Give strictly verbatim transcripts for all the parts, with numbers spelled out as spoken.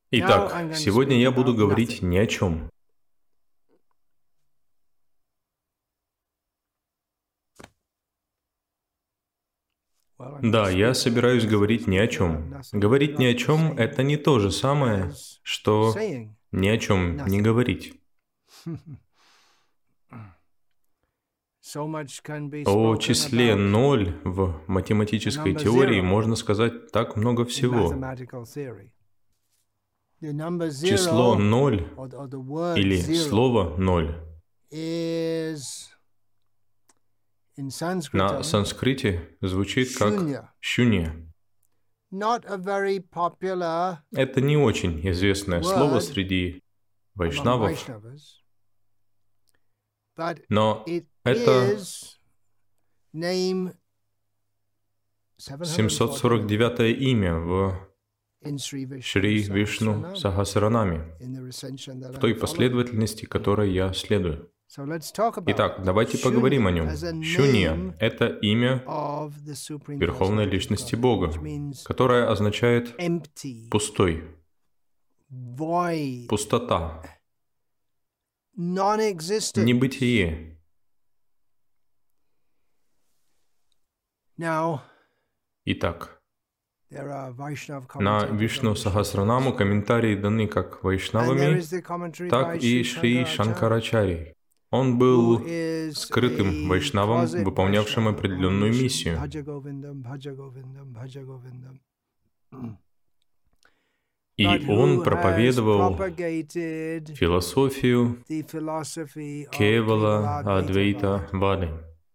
Итак, сегодня я буду говорить ни о чем. Да, я собираюсь говорить ни о чем. Говорить ни о чем – это не то же самое, что ни о чем не говорить. О числе ноль в математической теории можно сказать так много всего. Число ноль или слово ноль на санскрите звучит как «шунья». Это не очень известное слово среди вайшнавов, но это семьсот сорок девятое имя в Шри Вишну Сахасранаме, в той последовательности, которой я следую. Итак, давайте поговорим о нем. Шунья — это имя Верховной Личности Бога, которое означает «пустой», «пустота», «небытие». Итак, на Вишну Сахасранаму комментарии даны как вайшнавами, так и Шри Шанкарачарьей. Он был скрытым вайшнавом, выполнявшим определенную миссию. И он проповедовал философию Кевала Адвейта Вады.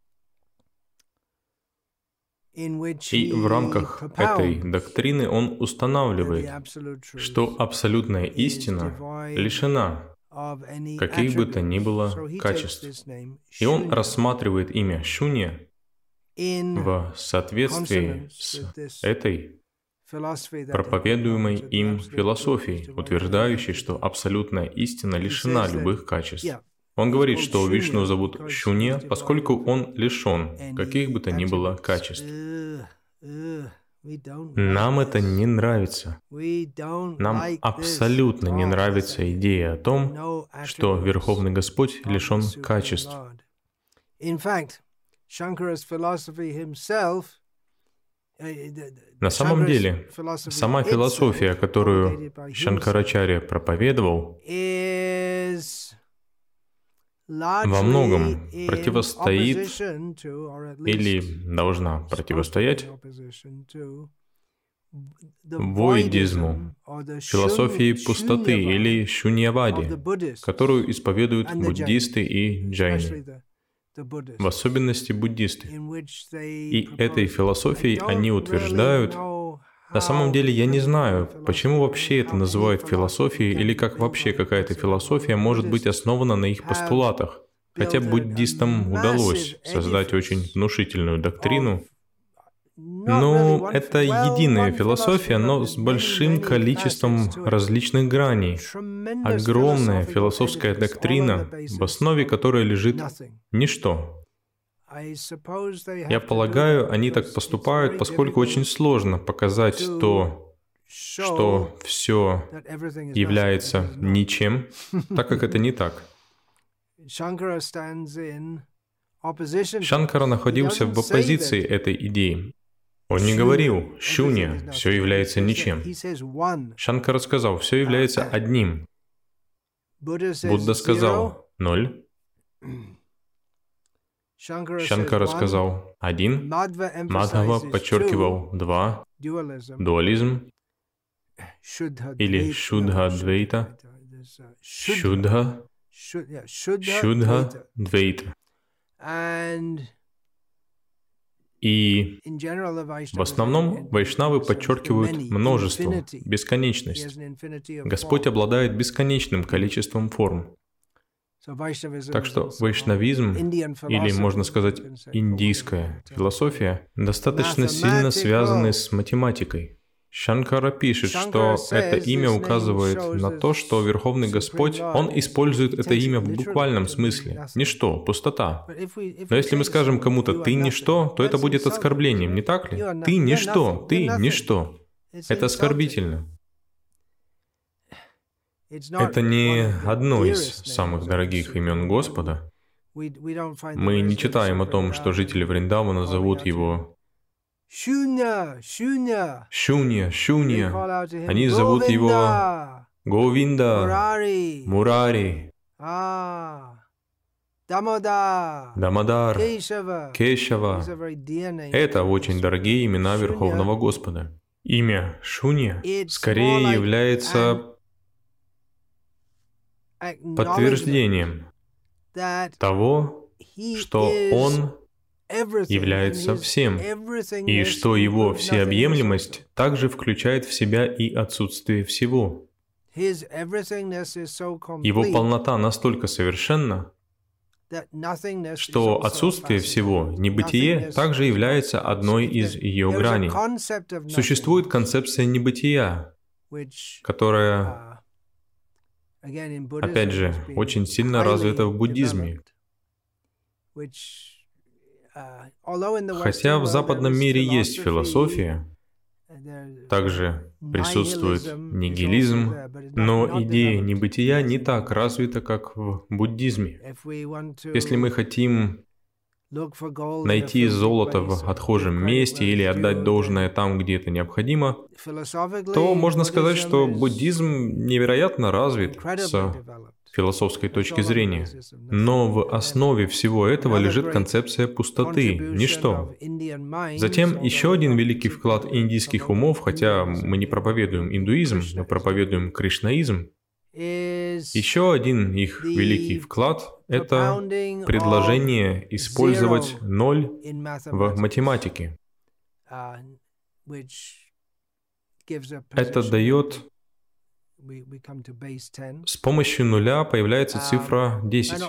И в рамках этой доктрины он устанавливает, что абсолютная истина лишена каких бы то ни было качеств. И он рассматривает имя Шунья в соответствии с этой проповедуемой им философией, утверждающей, что абсолютная истина лишена любых качеств. Он говорит, что Вишну зовут Шунья, поскольку он лишен каких бы то ни было качеств. Нам это не нравится. Нам абсолютно не нравится идея о том, что Верховный Господь лишен качеств. На самом деле, сама философия, которую Шанкарачарья проповедовал, во многом противостоит или должна противостоять войдизму, философии пустоты или шуньяваде, которую исповедуют буддисты и джайны, в особенности буддисты. И этой философией они утверждают, на самом деле я не знаю, почему вообще это называют философией или как вообще какая-то философия может быть основана на их постулатах. Хотя буддистам удалось создать очень внушительную доктрину. Ну, это единая философия, но с большим количеством различных граней. Огромная философская доктрина, в основе которой лежит ничто. Я полагаю, они так поступают, поскольку очень сложно показать то, что все является ничем, так как это не так. Шанкара находился в оппозиции этой идеи. Он не говорил «шунья», «все является ничем». Шанкара сказал «все является одним». Будда сказал «ноль». Шанкара сказал «один», Мадхава подчеркивал «два», дуализм или шудха-двейта, шудха, шудха-двейта. И в основном вайшнавы подчеркивают множество, бесконечность. Господь обладает бесконечным количеством форм. Так что вайшнавизм, или, можно сказать, индийская философия, достаточно сильно связаны с математикой. Шанкара пишет, что это имя указывает на то, что Верховный Господь, Он использует это имя в буквальном смысле. Ничто, пустота. Но если мы скажем кому-то «ты ничто», то это будет оскорблением, не так ли? Ты ничто, ты ничто. Это оскорбительно. Это не одно из самых дорогих имен Господа. Мы не читаем о том, что жители Вриндавана зовут его Шунья, Шунья. Шунья, Шунья. Они зовут его Говинда, Мурари, Дамодар, Кешава. Это очень дорогие имена Верховного Господа. Имя Шунья скорее является подтверждением того, что Он является всем, и что Его всеобъемлемость также включает в себя и отсутствие всего. Его полнота настолько совершенна, что отсутствие всего, небытие, также является одной из ее граней. Существует концепция небытия, которая, опять же, очень сильно развита в буддизме. Хотя в западном мире есть философия, также присутствует нигилизм, но идея небытия не так развита, как в буддизме. Если мы хотим найти золото в отхожем месте или отдать должное там, где это необходимо, то можно сказать, что буддизм невероятно развит с философской точки зрения. Но в основе всего этого лежит концепция пустоты, ничто. Затем еще один великий вклад индийских умов, хотя мы не проповедуем индуизм, мы проповедуем кришнаизм. Еще один их великий вклад — это предложение использовать ноль в математике. Это дает... С помощью нуля появляется цифра десять.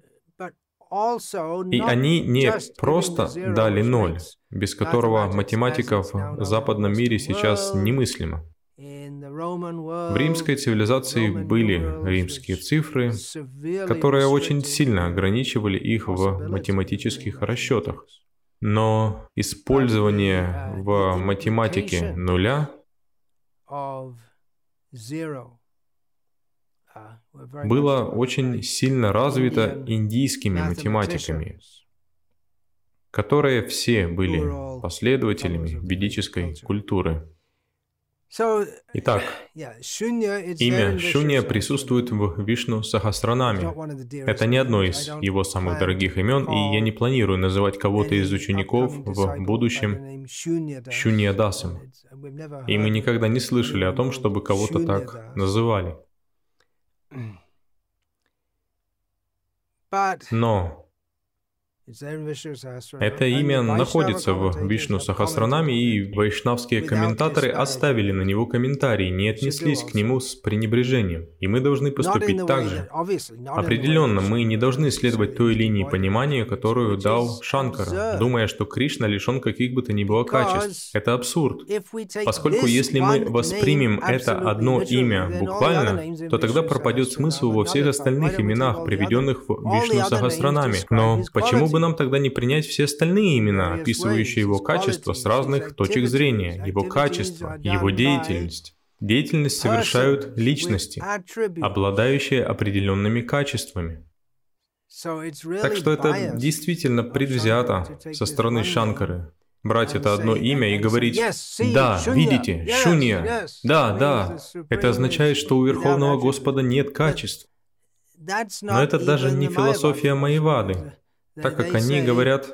И они не просто дали ноль, без которого математика в западном мире сейчас немыслима. В римской цивилизации были римские цифры, которые очень сильно ограничивали их в математических расчетах. Но использование в математике нуля было очень сильно развито индийскими математиками, которые все были последователями ведической культуры. Итак, имя Шунья присутствует в Вишну Сахасранаме. Это не одно из его самых дорогих имен, и я не планирую называть кого-то из учеников в будущем Шуньядасом. И мы никогда не слышали о том, чтобы кого-то так называли. Но это имя находится в Вишну Сахасранаме, и вайшнавские комментаторы оставили на него комментарии, не отнеслись к нему с пренебрежением. И мы должны поступить так же. Определенно, мы не должны следовать той линии понимания, которую дал Шанкара, думая, что Кришна лишен каких бы то ни было качеств. Это абсурд. Поскольку если мы воспримем это одно имя буквально, то тогда пропадет смысл во всех остальных именах, приведенных в Вишну Сахасранаме. Но почему бы нам тогда не принять все остальные имена, описывающие его качества с разных точек зрения, его качество, его деятельность? Деятельность совершают личности, обладающие определенными качествами. Так что это действительно предвзято со стороны Шанкары. Брать это одно имя и говорить: «Да, видите, Шунья, да, да». Это означает, что у Верховного Господа нет качеств. Но это даже не философия Майявады, так как они говорят...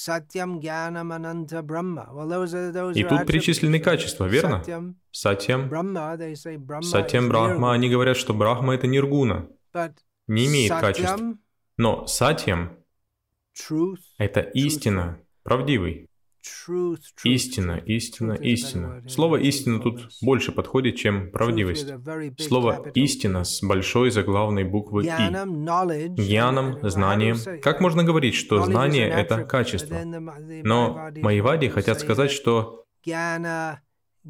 И тут перечислены качества, верно? Сатьям. Сатьям Брахма. Они говорят, что Брахма — это ниргуна, не имеет качеств. Но Сатьям — это истина, правдивый. Истина, истина, истина. Слово «истина» тут больше подходит, чем правдивость. Слово «истина» с большой заглавной буквы «и». Гьянам, знанием. Как можно говорить, что знание — это качество? Но майявади хотят сказать, что гьяна,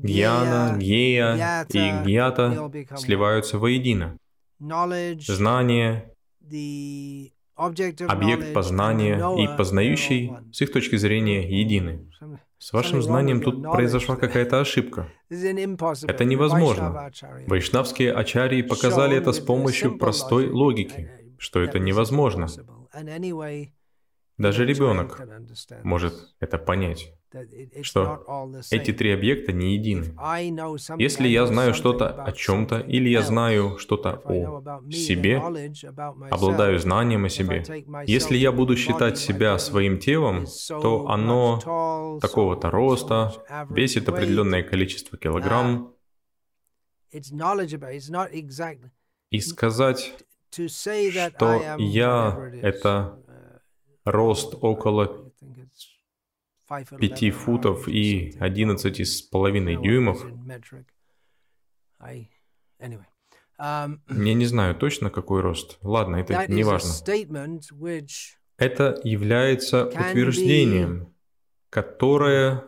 гьея и гьята сливаются воедино. Знание, объект познания и познающий, с их точки зрения, едины. С вашим знанием тут произошла какая-то ошибка. Это невозможно. Вайшнавские ачарьи показали это с помощью простой логики, что это невозможно. Даже ребенок может это понять, что эти три объекта не едины. Если я знаю что-то о чем-то, или я знаю что-то о себе, обладаю знанием о себе, если я буду считать себя своим телом, то оно такого-то роста, весит определенное количество килограмм, и сказать, что я — это рост около пяти футов и одиннадцати с половиной дюймов. Я не знаю точно, какой рост. Ладно, это не важно. Это является утверждением, которое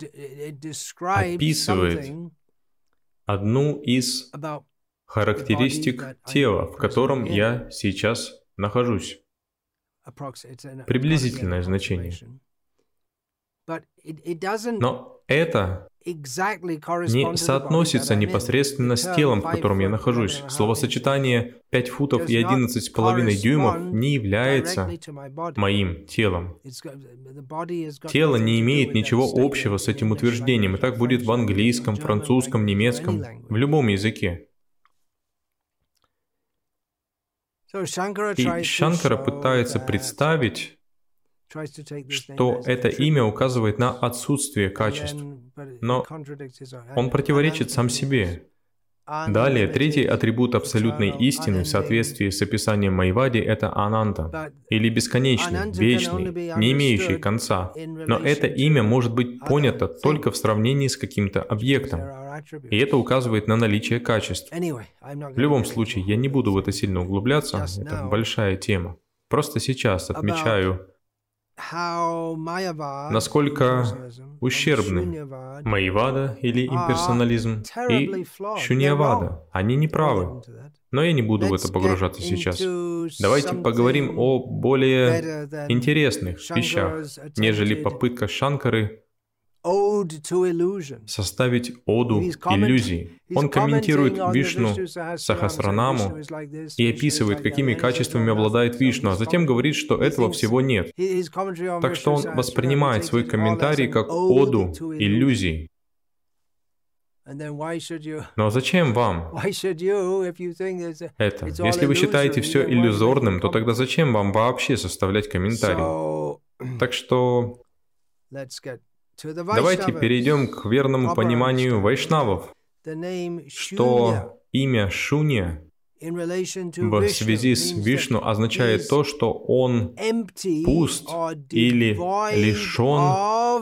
описывает одну из характеристик тела, в котором я сейчас нахожусь. Приблизительное значение. Но это не соотносится непосредственно с телом, в котором я нахожусь. Словосочетание пять футов и одиннадцать с половиной дюймов не является моим телом. Тело не имеет ничего общего с этим утверждением, и так будет в английском, французском, немецком, в любом языке. И Шанкара пытается представить, что это имя указывает на отсутствие качеств, но он противоречит сам себе. Далее, третий атрибут абсолютной истины в соответствии с описанием Майявади — это Ананта, или бесконечный, вечный, не имеющий конца. Но это имя может быть понято только в сравнении с каким-то объектом, и это указывает на наличие качеств. В любом случае, я не буду в это сильно углубляться, это большая тема. Просто сейчас отмечаю, насколько ущербны Майявада или имперсонализм и Шуньявада. Они не правы. Но я не буду в это погружаться сейчас. Давайте поговорим о более интересных вещах, нежели попытка Шанкары составить оду иллюзий. Он комментирует Вишну Сахасранаму и описывает, какими качествами обладает Вишну, а затем говорит, что этого всего нет. Так что он воспринимает свой комментарий как оду иллюзий. Но зачем вам это? Если вы считаете все иллюзорным, то тогда зачем вам вообще составлять комментарий? Так что давайте перейдем к верному пониманию вайшнавов, что имя Шунья в связи с Вишну означает то, что он пуст или лишен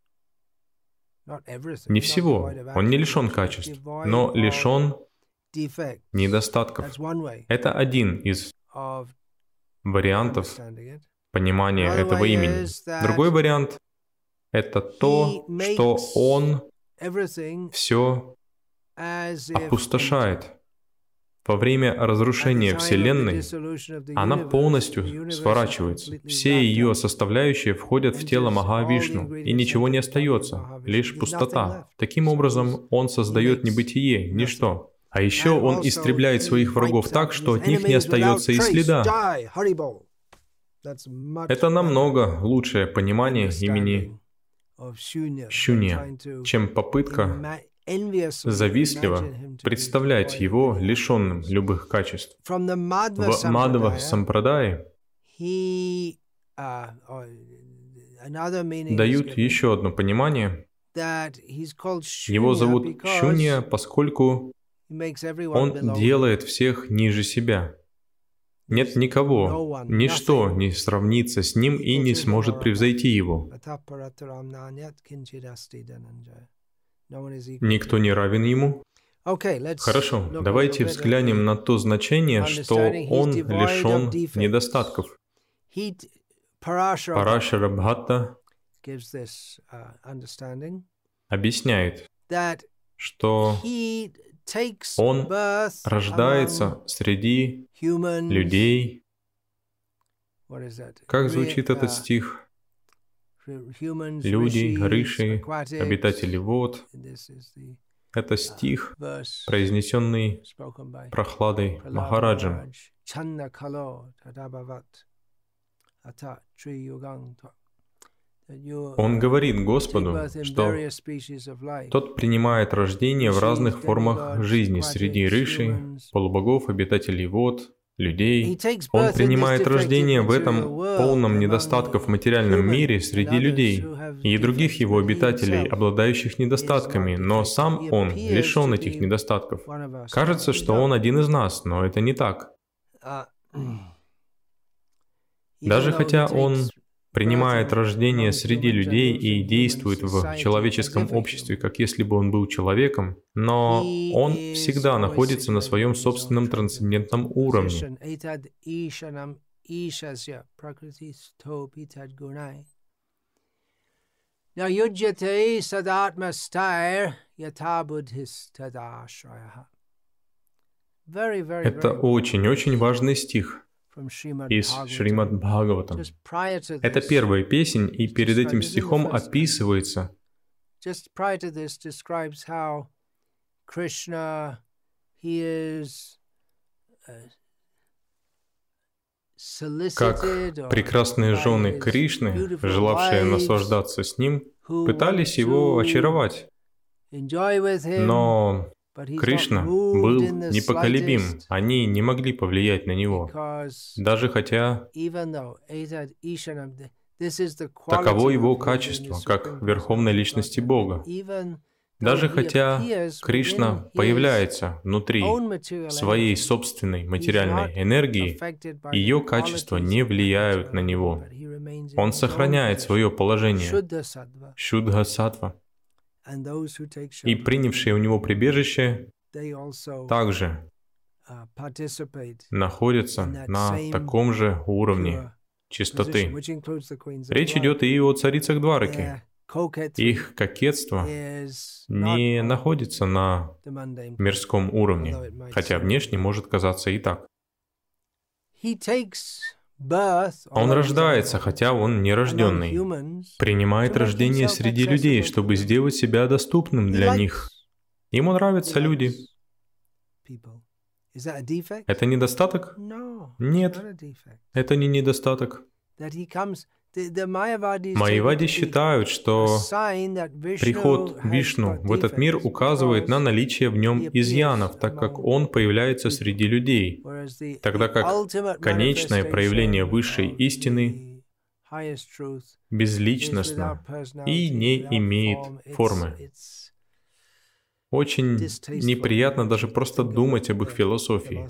не всего. Он не лишен качеств, но лишен недостатков. Это один из вариантов понимания этого имени. Другой вариант — это то, что он все опустошает. Во время разрушения Вселенной она полностью сворачивается. Все ее составляющие входят в тело Махавишну, и ничего не остается, лишь пустота. Таким образом, он создает небытие, ничто. А еще он истребляет своих врагов так, что от них не остается и следа. Это намного лучшее понимание имени Шунья, чем попытка завистливо представлять его лишенным любых качеств. В Мадхва Сампрадае дают еще одно понимание. Его зовут Шунья, поскольку он делает всех ниже себя. Нет никого, ничто не сравнится с ним и не сможет превзойти его. Никто не равен ему. Хорошо, давайте взглянем на то значение, что он лишен недостатков. Парашара Бхатта объясняет, что он рождается среди людей. Как звучит этот стих? Люди, риши, обитатели вод. Это стих, произнесенный Прохладой Махараджем. Он говорит Господу, что Тот принимает рождение в разных формах жизни среди риши, полубогов, обитателей вод, людей. Он принимает рождение в этом полном недостатков материальном мире среди людей и других его обитателей, обладающих недостатками, но сам он лишен этих недостатков. Кажется, что он один из нас, но это не так. Даже хотя он принимает рождение среди людей и действует в человеческом обществе, как если бы он был человеком, но он всегда находится на своем собственном трансцендентном уровне. Это очень-очень важный стих из Шримад Бхагаватам. Это первая песнь, и перед этим стихом описывается, как прекрасные жены Кришны, желавшие наслаждаться с ним, пытались его очаровать. Но Кришна был непоколебим, они не могли повлиять на него, даже хотя таково его качество, как Верховной Личности Бога. Даже хотя Кришна появляется внутри своей собственной материальной энергии, ее качества не влияют на него. Он сохраняет свое положение, Шудха-саттва. И принявшие у него прибежище также находятся на таком же уровне чистоты. Речь идет и о царицах Двараки. Их кокетство не находится на мирском уровне, хотя внешне может казаться и так. Он рождается, хотя он нерожденный, принимает рождение среди людей, чтобы сделать себя доступным для них. Ему нравятся люди. Это недостаток? Нет, это не недостаток. Майявади считают, что приход Вишну в этот мир указывает на наличие в нем изъянов, так как он появляется среди людей, тогда как конечное проявление высшей истины безличностно и не имеет формы. Очень неприятно даже просто думать об их философии.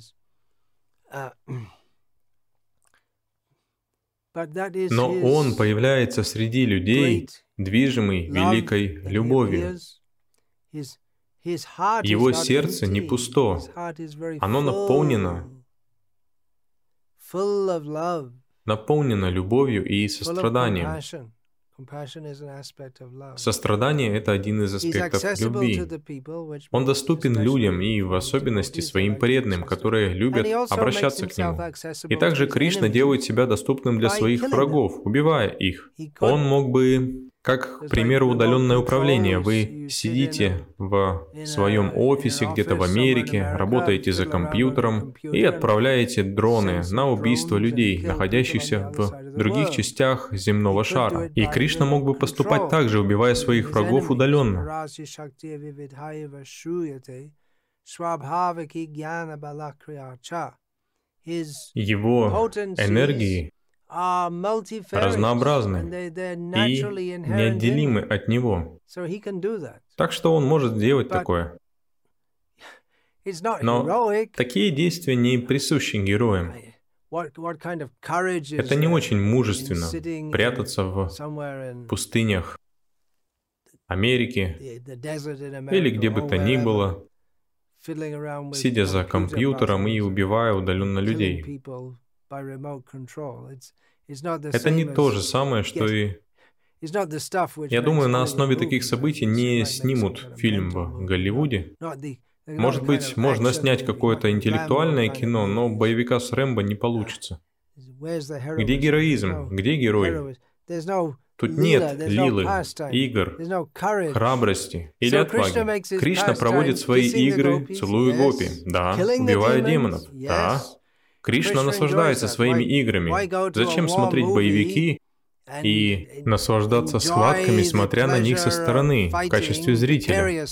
Но он появляется среди людей, движимый великой любовью. Его сердце не пусто, оно наполнено, наполнено любовью и состраданием. Сострадание — это один из аспектов любви. Он доступен людям и в особенности своим преданным, которые любят обращаться к нему. И также Кришна делает себя доступным для своих врагов, убивая их. Он мог бы, как, к примеру, удаленное управление. Вы сидите в своем офисе где-то в Америке, работаете за компьютером и отправляете дроны на убийство людей, находящихся в других частях земного шара. И Кришна мог бы поступать так же, убивая своих врагов удаленно. Его энергии разнообразны и неотделимы от него. Так что он может сделать такое. Но такие действия не присущи героям. Это не очень мужественно — прятаться в пустынях Америки или где бы то ни было, сидя за компьютером и убивая удаленно людей. Это не то же самое, что и... Я думаю, на основе таких событий не снимут фильм в Голливуде. Может быть, можно снять какое-то интеллектуальное кино, но боевика с Рэмбо не получится. Где героизм? Где герой? Тут нет лилы, игр, храбрости или отваги. Кришна проводит свои игры, целуя гопи, да, убивая демонов, да. Кришна наслаждается своими играми. Зачем смотреть боевики и наслаждаться схватками, смотря на них со стороны, в качестве зрителя?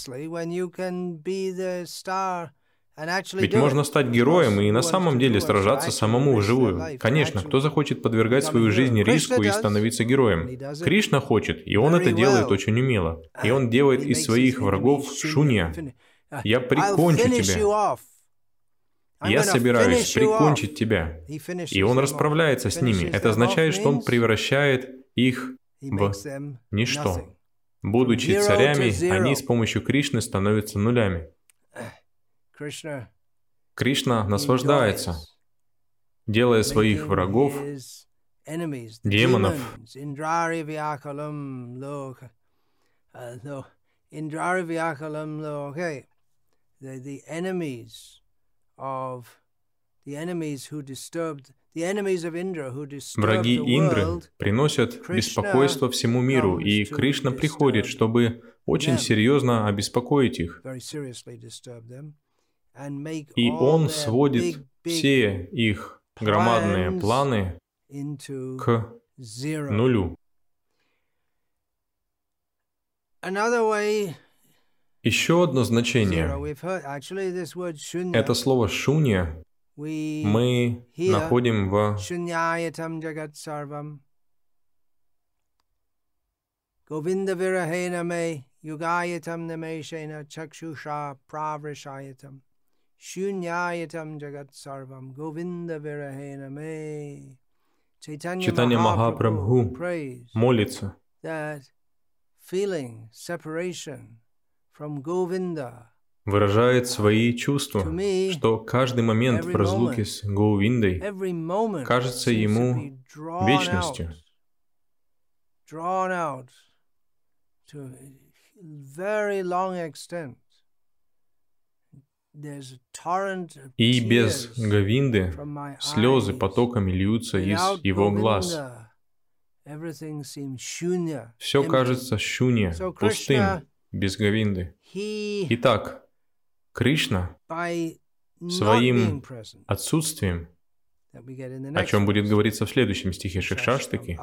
Ведь можно стать героем и на самом деле сражаться самому вживую. Конечно, кто захочет подвергать свою жизнь риску и становиться героем? Кришна хочет, и он это делает очень умело. И он делает из своих врагов шунья. Я прикончу тебя. Я собираюсь прикончить тебя. И он расправляется с ними. Это означает, что он превращает их в ничто. Будучи царями, они с помощью Кришны становятся нулями. Кришна наслаждается, делая своих врагов, демонов, враги Индры приносят беспокойство всему миру, и Кришна приходит, чтобы очень серьезно обеспокоить их. И он сводит все их громадные планы к нулю. Еще одно значение. Это слово «шунья» мы находим в Чайтанья Махапрабху молится, выражает свои чувства, что каждый момент в разлуке с Говиндой кажется ему вечностью. И без Говинды слезы потоками льются из его глаз. Все кажется шунья, пустым, без Говинды. Итак, Кришна своим отсутствием, о чем будет говориться в следующем стихе Шикшаштаки,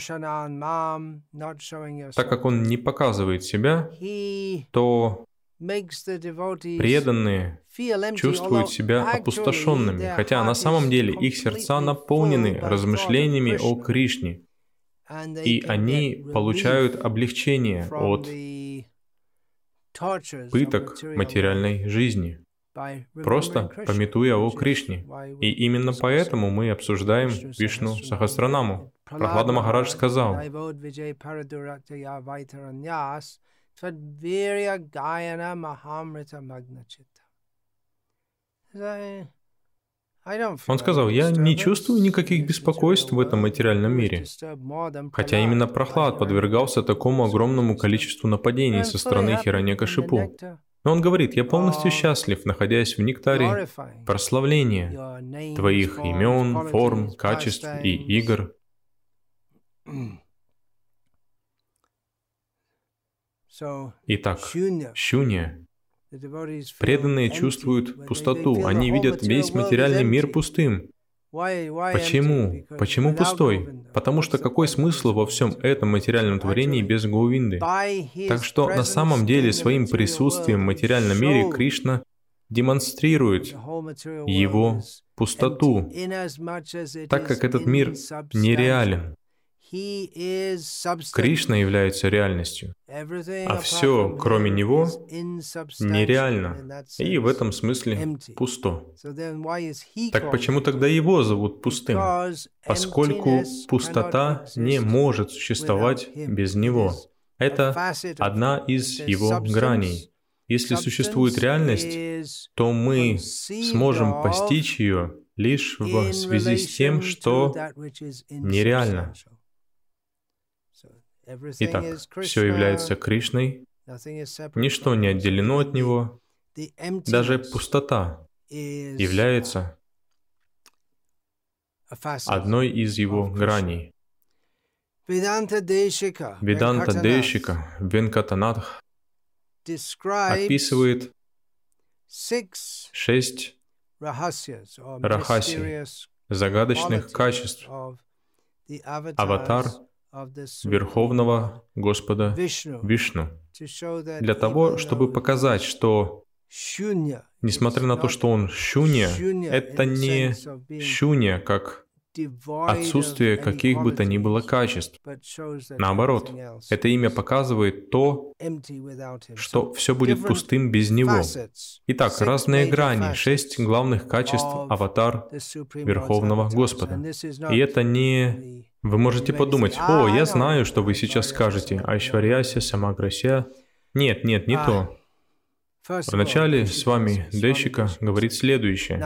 так как он не показывает себя, то преданные чувствуют себя опустошенными, хотя на самом деле их сердца наполнены размышлениями о Кришне, и они получают облегчение от пыток материальной жизни, просто памятуя о Кришне. И именно поэтому мы обсуждаем Вишну Сахасранаму. Прохлада Махарадж сказал: Он сказал: «Я не чувствую никаких беспокойств в этом материальном мире». Хотя именно Прохлад подвергался такому огромному количеству нападений со стороны Хираньякашипу. Но он говорит: «Я полностью счастлив, находясь в нектаре прославления Твоих имен, форм, качеств и игр». Итак, шунья. Преданные чувствуют пустоту, они видят весь материальный мир пустым. Почему? Почему пустой? Потому что какой смысл во всем этом материальном творении без Говинды? Так что на самом деле своим присутствием в материальном мире Кришна демонстрирует его пустоту, так как этот мир нереален. Кришна является реальностью, а все, кроме Него, нереально, и в этом смысле пусто. Так почему тогда Его зовут пустым? Поскольку пустота не может существовать без Него. Это одна из Его граней. Если существует реальность, то мы сможем постичь ее лишь в связи с тем, что нереально. Итак, все является Кришной, ничто не отделено от Него, даже пустота является одной из Его граней. Vedanta Deshika Веданта Дейшика Венкатанатх описывает шесть рахасий, загадочных качеств аватар Верховного Господа Вишну, для того, чтобы показать, что, несмотря на то, что он шунья, это не шунья, как отсутствие каких бы то ни было качеств. Наоборот, это имя показывает то, что все будет пустым без него. Итак, разные грани, шесть главных качеств аватар Верховного Господа. И это не... Вы можете подумать: «О, я знаю, что вы сейчас скажете, Айшварьяся, Самаграся». Нет, нет, не то. Вначале с вами Дейшика говорит следующее.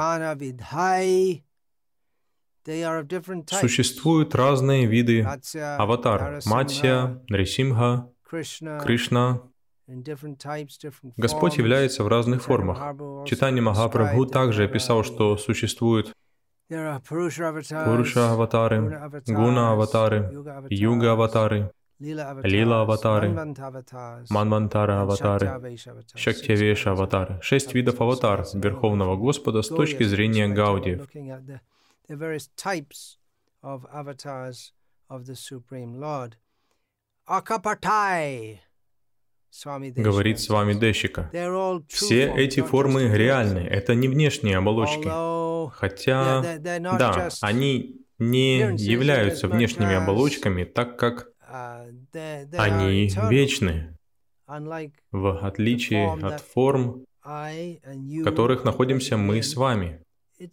Существуют разные виды аватар: Матья, Нрисимха, Кришна. Господь является в разных формах. Чайтанья Махапрабху также описал, что существуют Пуруша-аватары, Гуна-аватары, Юга-аватары, Лила-аватары, Манвантара-аватары, Шактивеша-аватары. Шесть видов аватар Верховного Господа с точки зрения гаудиев. The various types of avatars of the Supreme Lord. Akapatai, говорит с вами Дейшика. Все эти формы реальны, это не внешние оболочки. Хотя, да, они не являются внешними оболочками, так как они вечны, в отличие от форм, в которых находимся мы с вами.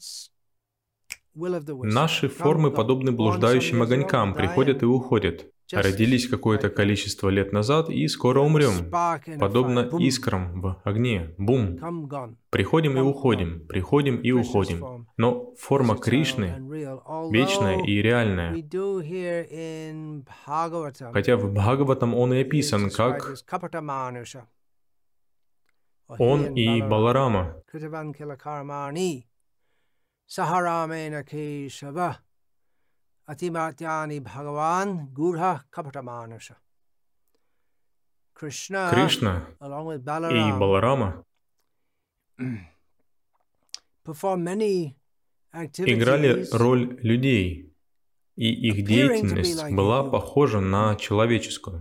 Наши формы подобны блуждающим огонькам, приходят и уходят. Родились какое-то количество лет назад и скоро умрем, подобно искрам в огне. Бум! Приходим и уходим, приходим и уходим. Но форма Кришны вечная и реальная. Хотя в Бхагаватам он и описан как он и Баларама. Сахарамена Кешава Атиматьяни Бхагаван Гурха Капатамануша. Кришна и Баларама играли роль людей, и их деятельность была похожа на человеческую.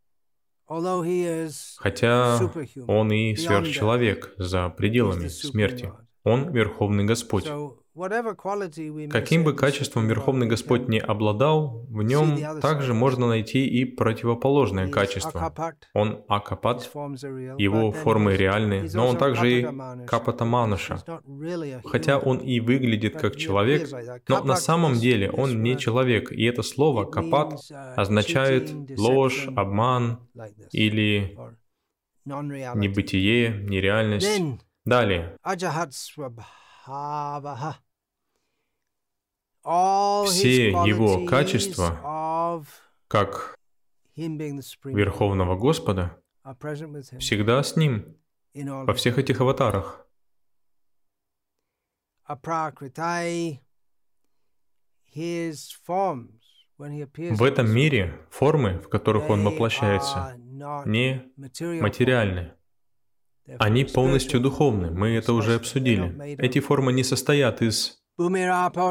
Хотя он и сверхчеловек за пределами смерти. Он Верховный Господь. Каким бы качеством Верховный Господь не обладал, в нем также можно найти и противоположное качество. Он Акапат, его формы реальны, но он также и Капатамануша. Хотя он и выглядит как человек, но на самом деле он не человек, и это слово Капат означает ложь, обман или небытие, нереальность. Далее. Все его качества, как Верховного Господа, всегда с ним, во всех этих аватарах. В этом мире формы, в которых он воплощается, не материальны. Они полностью духовны, мы это уже обсудили. Эти формы не состоят из... Они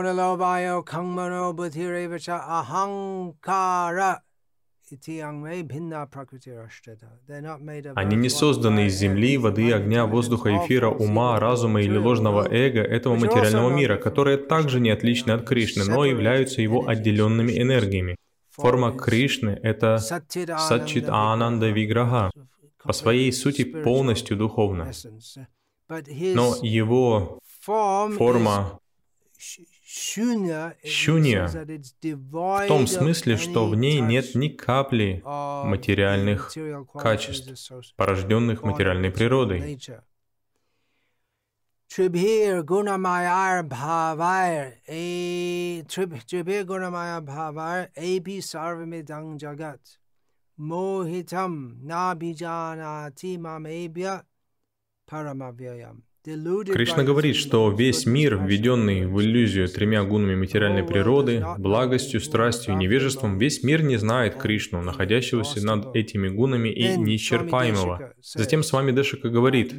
не созданы из земли, воды, огня, воздуха, эфира, ума, разума или ложного эго этого материального мира, которые также не отличны от Кришны, но являются его отделенными энергиями. Форма Кришны — это Сатчит Ананда Виграха, по своей сути полностью духовна. Но его форма шунья в том смысле, что в ней нет ни капли материальных качеств, порожденных материальной природой. Трибхир гунамаяр бхавайр эби сарвамидам джагат мохитам набиджанати мамебья парамавьям. Кришна говорит, что весь мир, введенный в иллюзию тремя гунами материальной природы, благостью, страстью и невежеством, весь мир не знает Кришну, находящегося над этими гунами и неисчерпаемого. Затем Свами Дешика говорит: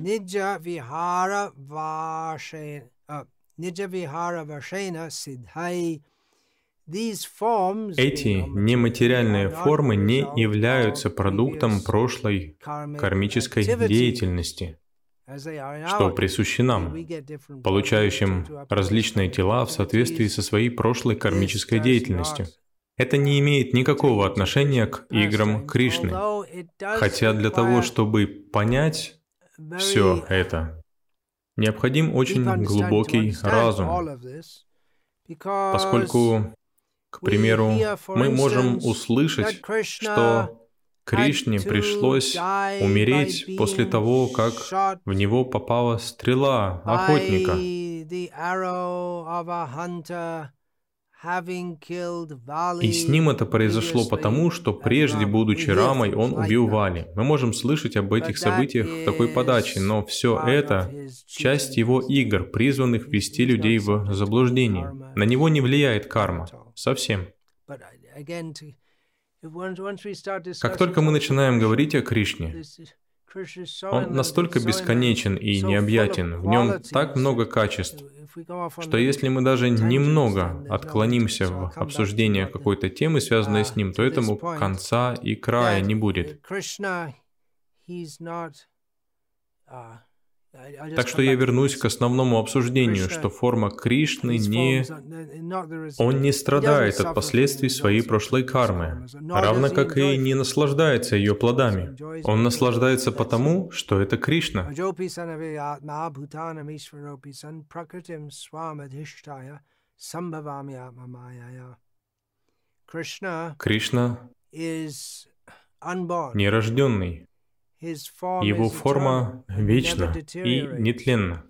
эти нематериальные формы не являются продуктом прошлой кармической деятельности, что присуще нам, получающим различные тела в соответствии со своей прошлой кармической деятельностью. Это не имеет никакого отношения к играм Кришны. Хотя для того, чтобы понять все это, необходим очень глубокий разум, поскольку, к примеру, мы можем услышать, что Кришне пришлось умереть после того, как в него попала стрела охотника. И с ним это произошло потому, что прежде, будучи Рамой, он убил Вали. Мы можем слышать об этих событиях в такой подаче, но все это — часть его игр, призванных ввести людей в заблуждение. На него не влияет карма. Совсем. Как только мы начинаем говорить о Кришне, он настолько бесконечен и необъятен, в нем так много качеств, что если мы даже немного отклонимся в обсуждение какой-то темы, связанной с ним, то этому конца и края не будет. Так что я вернусь к основному обсуждению, что форма Кришны не... Он не страдает от последствий своей прошлой кармы, равно как и не наслаждается ее плодами. Он наслаждается потому, что это Кришна. Кришна нерожденный. Его форма вечна и нетленна.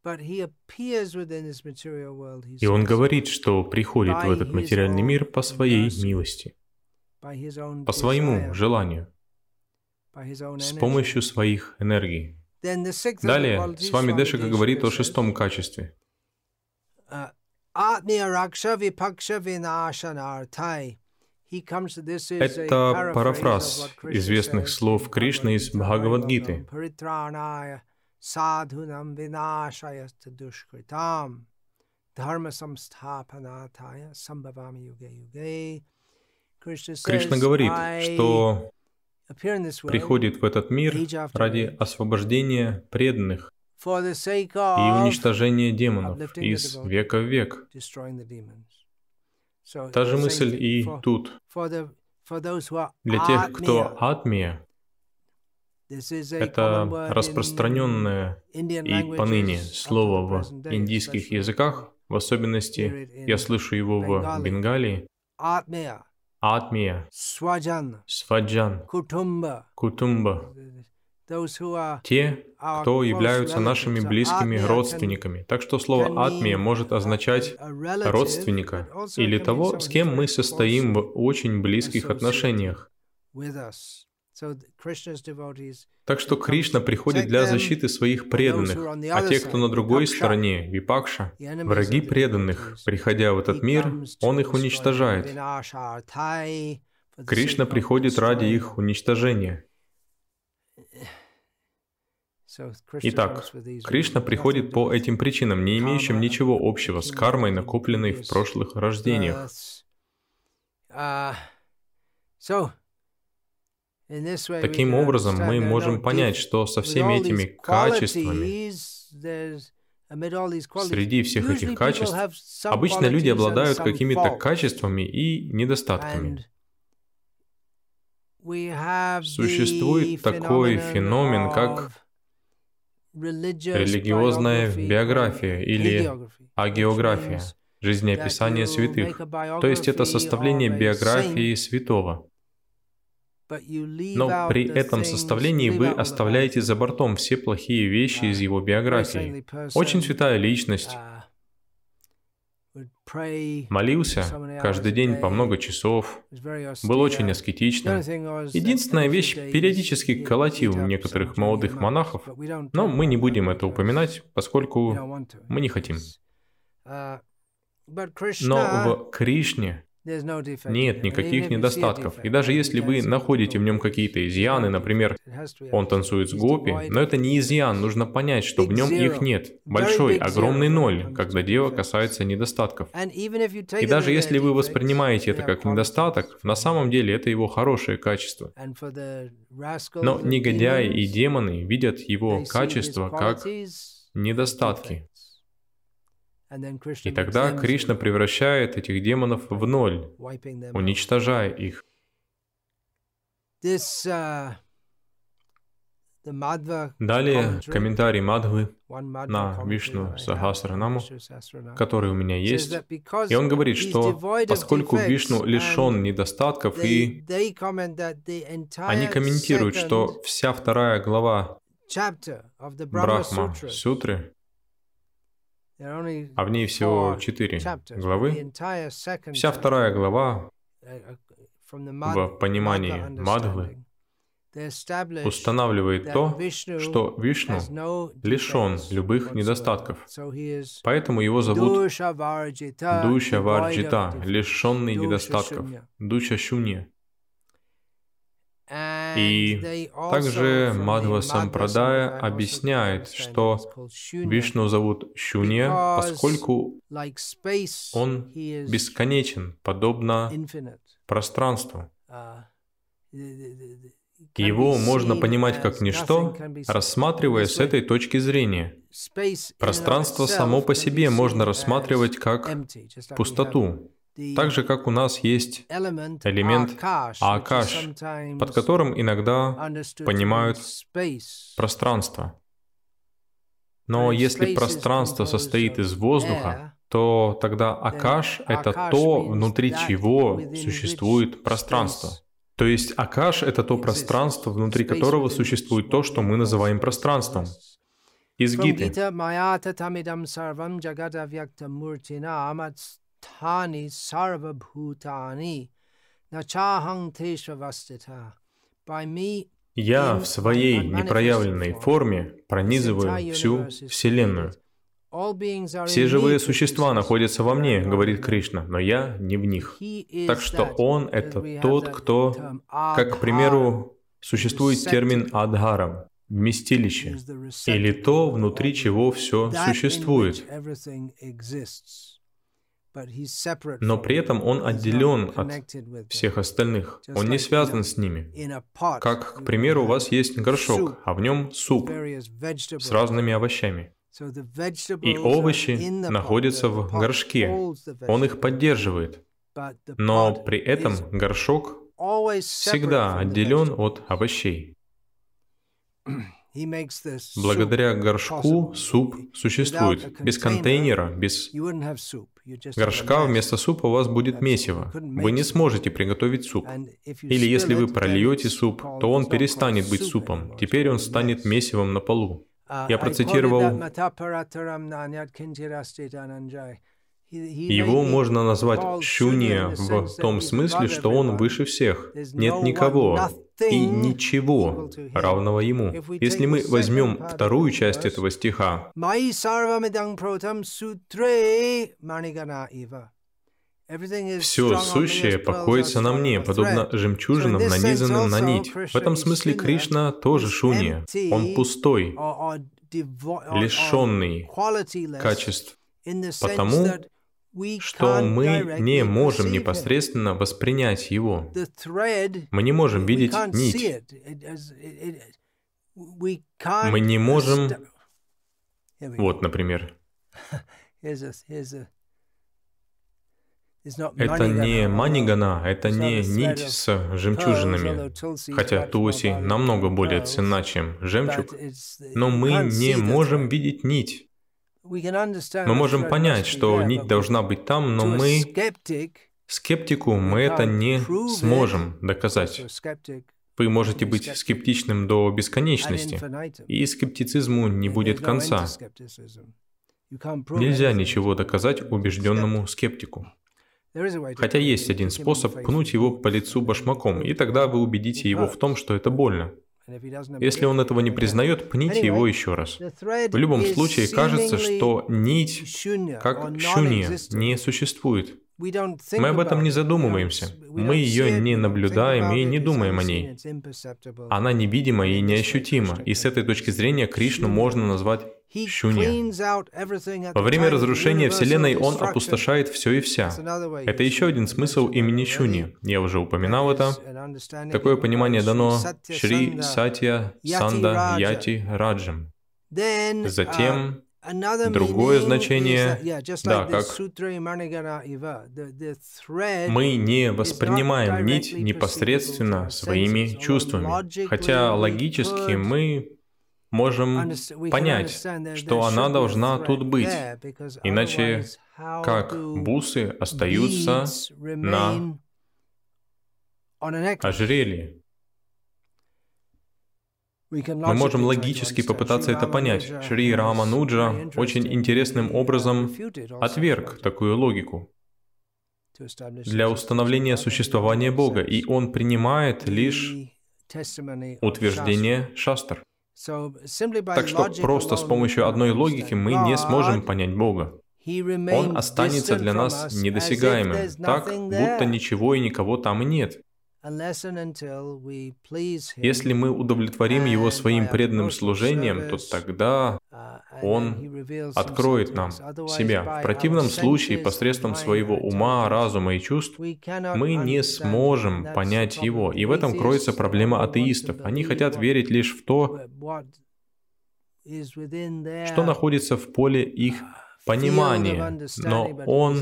И он говорит, что приходит в этот материальный мир по своей милости, по своему желанию, с помощью своих энергий. Далее Свами Дешика говорит о шестом качестве. Это парафраз известных слов Кришны из Бхагавад-гиты. Кришна говорит, что приходит в этот мир ради освобождения преданных и уничтожения демонов из века в век. Та же мысль и тут. Для тех, кто атмия, это распространенное и поныне слово в индийских языках, в особенности я слышу его в Бенгалии. Атмия, сваджан, кутумба. Те, кто являются нашими близкими родственниками. Так что слово «атмия» может означать родственника или того, с кем мы состоим в очень близких отношениях. Так что Кришна приходит для защиты своих преданных, а те, кто на другой стороне, випакша, враги преданных, приходя в этот мир, он их уничтожает. Кришна приходит ради их уничтожения. Итак, Кришна приходит по этим причинам, не имеющим ничего общего с кармой, накопленной в прошлых рождениях. Таким образом, мы можем понять, что со всеми этими качествами, среди всех этих качеств, обычно люди обладают какими-то качествами и недостатками. Существует такой феномен, как религиозная биография или агеография, жизнеописание святых, то есть это составление биографии святого. Но при этом составлении вы оставляете за бортом все плохие вещи из его биографии. Очень святая личность, молился каждый день по много часов, был очень аскетичным. Единственная вещь, периодически колотил некоторых молодых монахов, но мы не будем это упоминать, поскольку мы не хотим. Но в Кришне нет никаких недостатков. И даже если вы находите в нем какие-то изъяны, например, он танцует с гопи, но это не изъян, нужно понять, что в нем их нет. Большой, огромный ноль, когда дело касается недостатков. И даже если вы воспринимаете это как недостаток, на самом деле это его хорошее качество. Но негодяи и демоны видят его качество как недостатки. И тогда Кришна превращает этих демонов в ноль, уничтожая их. Далее комментарий Мадхвы на Вишну Сахасранаму, который у меня есть. И он говорит, что поскольку Вишну лишен недостатков, и они комментируют, что вся вторая глава Брахма-сутры, а в ней всего четыре главы, вся вторая глава в понимании Мадхвы устанавливает то, что Вишну лишен любых недостатков. Поэтому его зовут Душа Варджита, лишенный недостатков, Душа Шунья. И также Мадхва Сампрадая объясняет, что Вишну зовут Шунья, поскольку он бесконечен, подобно пространству. Его можно понимать как ничто, рассматривая с этой точки зрения. Пространство само по себе можно рассматривать как пустоту. Так же, как у нас есть элемент Акаш, под которым иногда понимают пространство. Но если пространство состоит из воздуха, то тогда Акаш — это то, внутри чего существует пространство. То есть Акаш — это то пространство, внутри которого существует то, что мы называем пространством. Из Гиты. Тани сарвабхутани начахам тешвавастита. Я в своей непроявленной форме пронизываю всю Вселенную. Все живые существа находятся во мне, говорит Кришна, но я не в них. Так что Он — это тот, кто, как, к примеру, существует термин «адхарам», вместилище, или то, внутри чего все существует. Но при этом он отделен от всех остальных. Он не связан с ними. Как, к примеру, у вас есть горшок, а в нем суп с разными овощами. И овощи находятся в горшке. Он их поддерживает. Но при этом горшок всегда отделен от овощей. Благодаря горшку суп существует. Без контейнера, без горшка вместо супа у вас будет месиво. Вы не сможете приготовить суп. Или если вы прольете суп, то он перестанет быть супом. Теперь он станет месивом на полу. Я процитировал... Его можно назвать шунья в том смысле, что он выше всех. Нет никого и ничего равного ему. Если мы возьмем вторую часть этого стиха, «Все сущее покоится на мне, подобно жемчужинам, нанизанным на нить». В этом смысле Кришна тоже шунья. Он пустой, лишенный качеств, потому что мы не можем непосредственно воспринять его. Мы не можем видеть нить. Мы не можем... Вот, например. Это не манигана, это не нить с жемчужинами, хотя Тулси намного более ценна, чем жемчуг, но мы не можем видеть нить. Мы можем понять, что нить должна быть там, но мы, скептику, мы это не сможем доказать. Вы можете быть скептичным до бесконечности, и скептицизму не будет конца. Нельзя ничего доказать убежденному скептику. Хотя есть один способ пнуть его по лицу башмаком, и тогда вы убедите его в том, что это больно. Если он этого не признает, пните его еще раз. В любом случае, кажется, что нить, как шунья, не существует. Мы об этом не задумываемся. Мы ее не наблюдаем и не думаем о ней. Она невидима и неощутима, и с этой точки зрения Кришну можно назвать шунья. Во время разрушения Вселенной он опустошает все и вся. Это еще один смысл имени Шунья. Я уже упоминал это. Такое понимание дано Шри Сатья Санда Яти Раджам. Затем другое значение, да, как мы не воспринимаем нить непосредственно своими чувствами, хотя логически мы можем понять, что она должна тут быть, иначе как бусы остаются на ожерелье. Мы можем логически попытаться это понять. Шри Рамануджа очень интересным образом отверг такую логику для установления существования Бога, и он принимает лишь утверждение шастр. Так что просто с помощью одной логики мы не сможем понять Бога. Он останется для нас недосягаемым, так, будто ничего и никого там и нет. Если мы удовлетворим Его своим преданным служением, то тогда Он откроет нам себя. В противном случае, посредством своего ума, разума и чувств, мы не сможем понять Его. И в этом кроется проблема атеистов. Они хотят верить лишь в то, что находится в поле их понимания, но Он,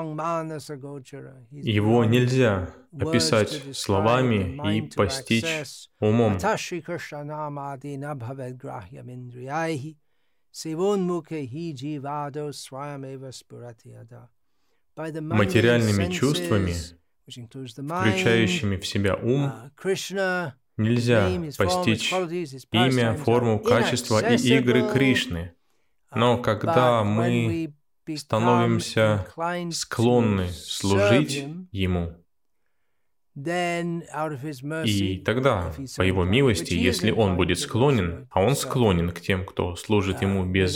его нельзя описать словами и постичь умом. Материальными чувствами, включающими в себя ум, нельзя постичь имя, форму, качество и игры Кришны. Но когда мы становимся склонны служить Ему, и тогда, по Его милости, если Он будет склонен, а Он склонен к тем, кто служит Ему без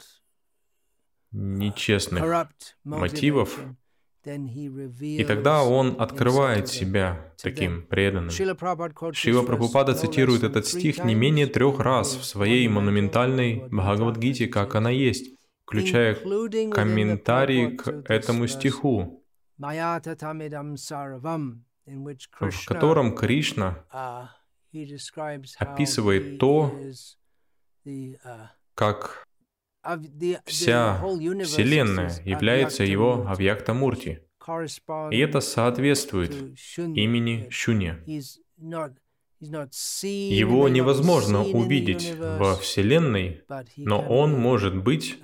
нечестных мотивов, и тогда Он открывает себя таким преданным. Шрила Прабхупада цитирует этот стих не менее трех раз в своей монументальной Бхагавад-гите, как она есть, включая комментарии к этому стиху, в котором Кришна описывает то, как вся Вселенная является Его авьякта-мурти. И это соответствует имени Шунья. Его невозможно увидеть во Вселенной, но Он может быть.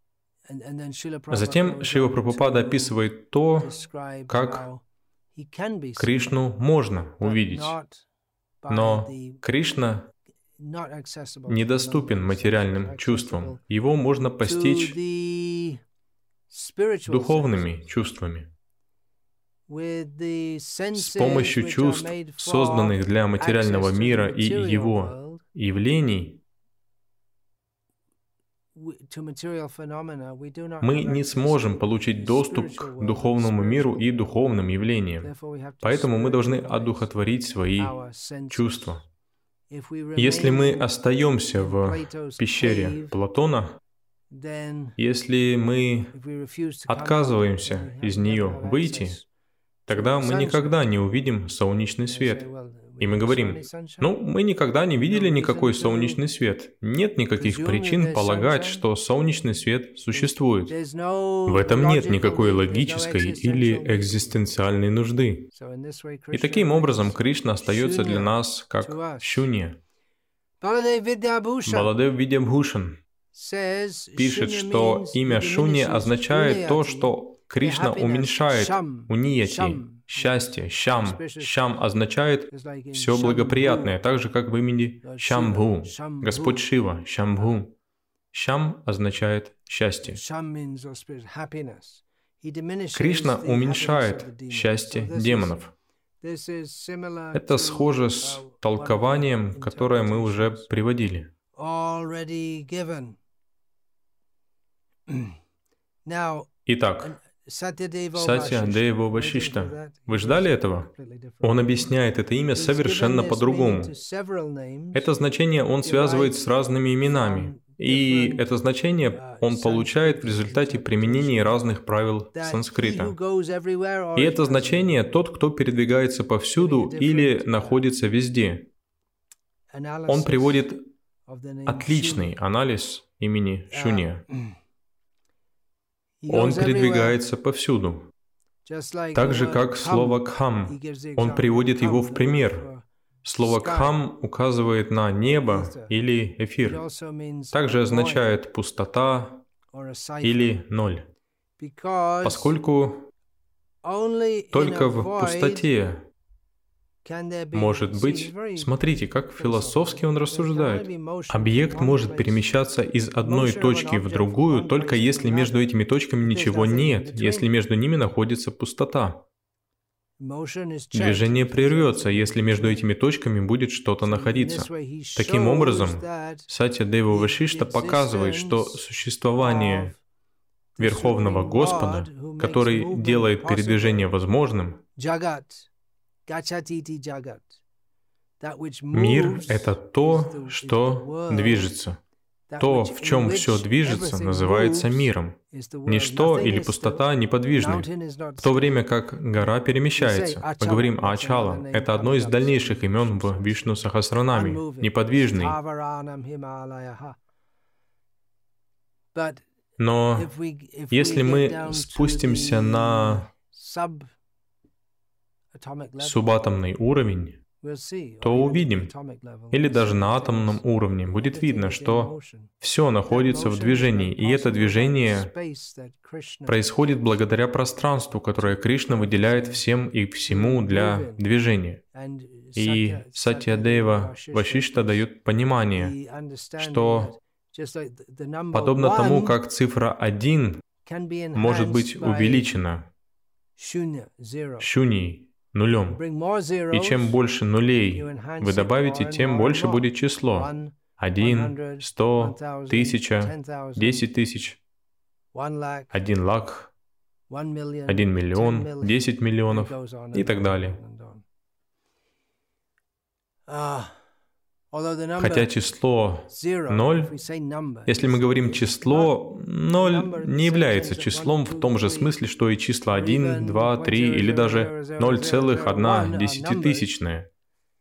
Затем Шрила Прабхупада описывает то, как Кришну можно увидеть. Но Кришна недоступен материальным чувствам. Его можно постичь духовными чувствами. С помощью чувств, созданных для материального мира и его явлений, мы не сможем получить доступ к духовному миру и духовным явлениям. Поэтому мы должны одухотворить свои чувства. Если мы остаемся в пещере Платона, если мы отказываемся из нее выйти, тогда мы никогда не увидим солнечный свет. И мы говорим, ну, мы никогда не видели никакой солнечный свет. Нет никаких причин полагать, что солнечный свет существует. В этом нет никакой логической или экзистенциальной нужды. И таким образом Кришна остается для нас как Шунья. Баладев Видьябхушан пишет, что имя Шунья означает то, что Кришна уменьшает унияти, счастье, щам. Щам означает все благоприятное, так же, как в имени Шамбху, Господь Шива, Шамбху. Шам означает счастье. Кришна уменьшает счастье демонов. Это схоже с толкованием, которое мы уже приводили. Итак, Сатья-Дейва Вашишта. Вы ждали этого? Он объясняет это имя совершенно по-другому. Это значение он связывает с разными именами. И это значение он получает в результате применения разных правил санскрита. И это значение тот, кто передвигается повсюду или находится везде. Он приводит отличный анализ имени Шунья. Он передвигается повсюду. Так же, как слово «кхам», он приводит его в пример. Слово «кхам» указывает на небо или эфир. Также означает пустота или ноль. Поскольку только в пустоте может быть, смотрите, как философски он рассуждает. Объект может перемещаться из одной точки в другую, только если между этими точками ничего нет, если между ними находится пустота. Движение прервется, если между этими точками будет что-то находиться. Таким образом, Сатья-Дейва Вашишта показывает, что существование Верховного Господа, который делает передвижение возможным, мир — это то, что движется. То, в чем все движется, называется миром. Ничто или пустота неподвижны, в то время как гора перемещается. Мы говорим о Ачала. Это одно из дальнейших имен в Вишну Сахасранаме. Неподвижный. Но если мы спустимся на субатомный уровень, то увидим, или даже на атомном уровне будет видно, что все находится в движении, и это движение происходит благодаря пространству, которое Кришна выделяет всем и всему для движения. И Сатья-Дейва Вашишта дает понимание, что подобно тому, как цифра один может быть увеличена шуньей, нулем. И чем больше нулей вы добавите, тем больше будет число. Один, сто, тысяча, десять тысяч, один лак, один миллион, десять миллионов и так далее. Хотя число ноль, если мы говорим число, ноль не является числом в том же смысле, что и числа один, два, три или даже ноль целых одна десятитысячная.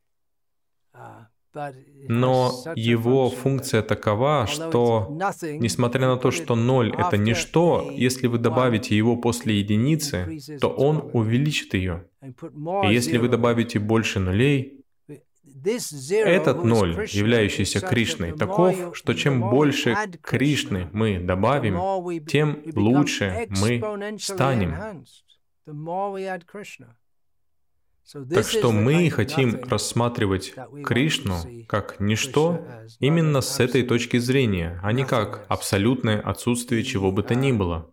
Но его функция такова, что, несмотря на то, что ноль — это ничто, если вы добавите его после единицы, то он увеличит ее. И если вы добавите больше нулей, этот ноль, являющийся Кришной, таков, что чем больше Кришны мы добавим, тем лучше мы станем. Так что мы хотим рассматривать Кришну как ничто именно с этой точки зрения, а не как абсолютное отсутствие чего бы то ни было.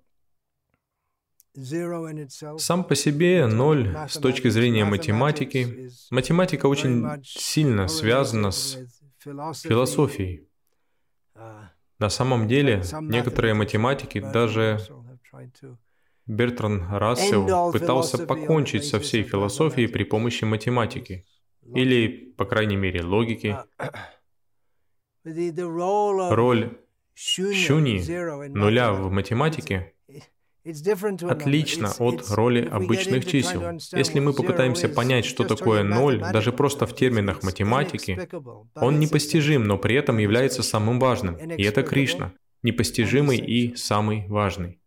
Сам по себе ноль с точки зрения математики, математика очень сильно связана с философией. На самом деле, некоторые математики, даже Бертранд Рассел, пытался покончить со всей философией при помощи математики, или, по крайней мере, логики. Роль шуньи, нуля в математике, отлично от роли обычных чисел. Если мы попытаемся понять, что такое ноль, даже просто в терминах математики, он непостижим, но при этом является самым важным. И это Кришна, непостижимый и самый важный.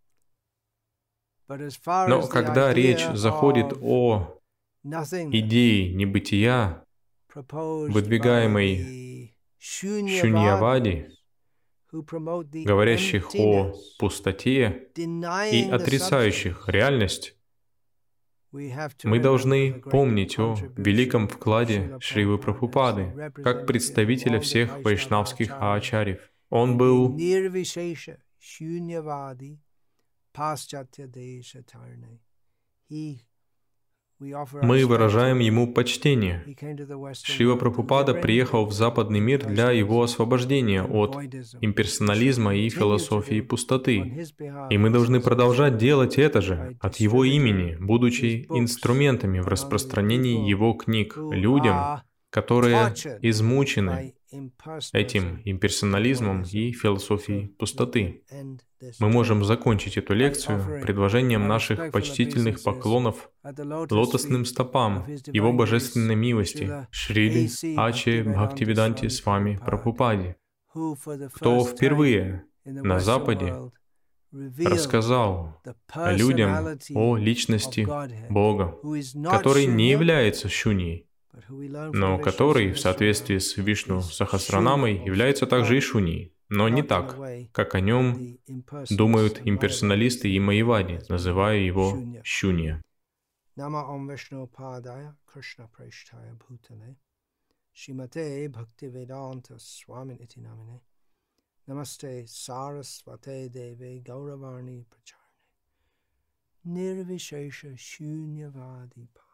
Но когда речь заходит о идее небытия, выдвигаемой Шуньявади, говорящих о пустоте и отрицающих реальность, мы должны помнить о великом вкладе Шривы Прабхупады как представителя всех вайшнавских ачарьев. Он был Nirvishesha Shunyavadi Paschatya Desha Tarne. He Мы выражаем ему почтение. Шрила Прабхупада приехал в западный мир для его освобождения от имперсонализма и философии пустоты. И мы должны продолжать делать это же от его имени, будучи инструментами в распространении его книг людям, которые измучены этим имперсонализмом и философией пустоты. Мы можем закончить эту лекцию предложением наших почтительных поклонов лотосным стопам Его Божественной милости Шрили Аче Бхактивиданти Свами Прабхупаде, кто впервые на Западе рассказал людям о личности Бога, который не является шуньей, но который, в соответствии с Вишну Сахасранамой, является также и шуньей, но не так, как о нем думают имперсоналисты и майявади, называя его шунья. Намасте Сарасвате Деве Гаураварни Прачарне Нирвишеша Шуньявади